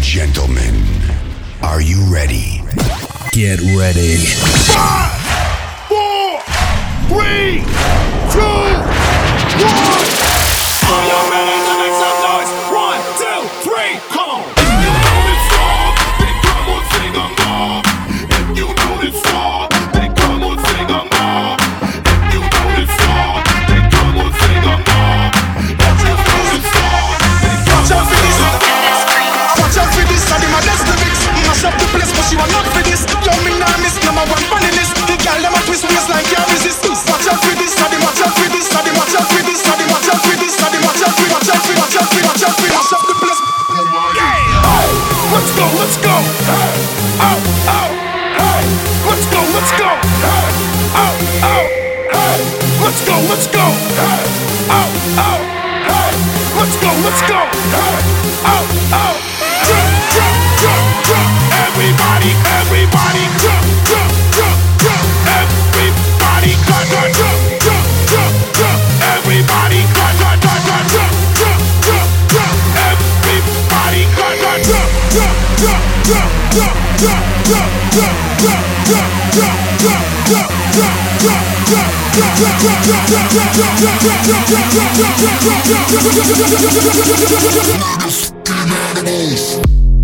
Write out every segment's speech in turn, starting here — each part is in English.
gentlemen, are you ready? Get ready. 5, 4, 3, 2, 1. Are you ready to make some noise? 1, 2, 3, come on. If you know this song, then come on, sing along. If you know this song, then come on, sing along. If you know this song, then come on, sing along. If you know this song, then come on, sing along. Watch out for this, I did my best lyrics. Mash up the place, but she was not for this. Yo, me nah miss, number one funny list. The girl them a twist waist like can't resist. Watch out for this, I did watch out for this, I did watch out for this, I did watch out for this, I did watch out for, watch out for, watch out for, watch out for, mash up the place. Yeah, oh, let's go, let's go. Hey, oh, oh, hey, let's go, let's go. Hey, oh, oh, hey, let's go, let's go. Hey, oh, oh, hey, let's go, let's go. Hey, oh, oh, jump, jump, jump, jump. Everybody, everybody, jump, jump, jump, jump. Everybody, jump, jump, jump, jump, jump. Everybody, jump, jump, jump, jump, jump, jump, jump. Everybody, jump, jump, jump, jump, jump, jump, jump, jump,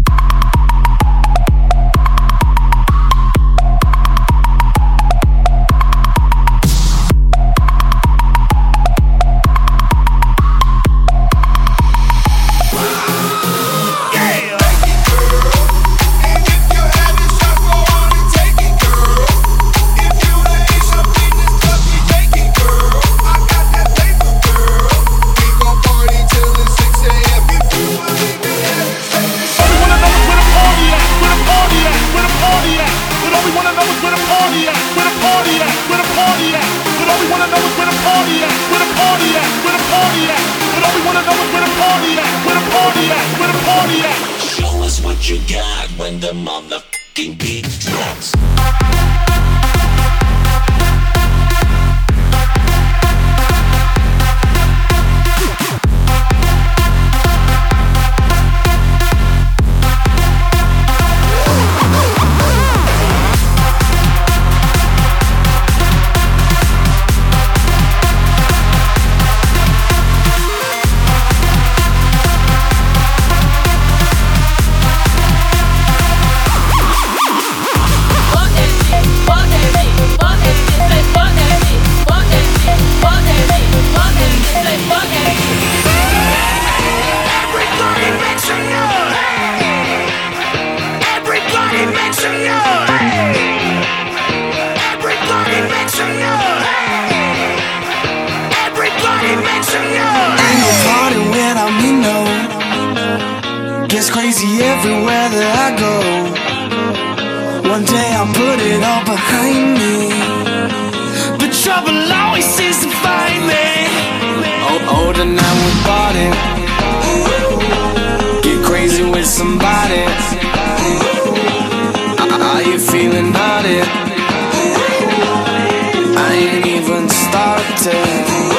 everywhere that I go. One day I'll put it all behind me, but trouble always seems to find me. Oh, tonight we party, get crazy with somebody. Are you feeling naughty? I ain't even started.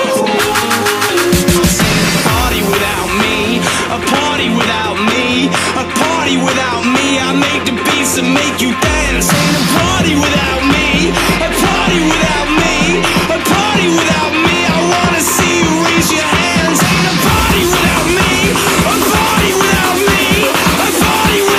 Party without me, a party without me, a party without me. I make the beats that make you dance. Ain't a party without me, a party without me, a party without me. I wanna see you raise your hands. Ain't a party without me, a party without me, a party without me.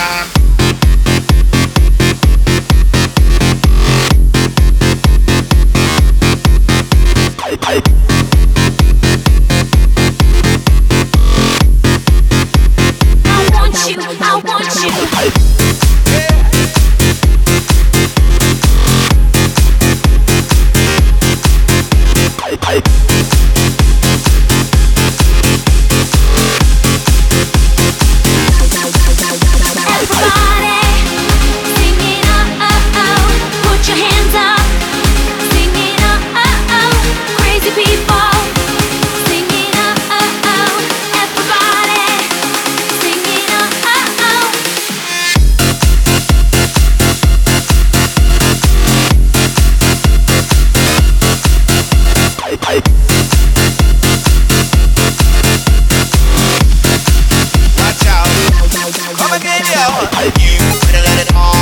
Watch out, come again, yo. You better let it all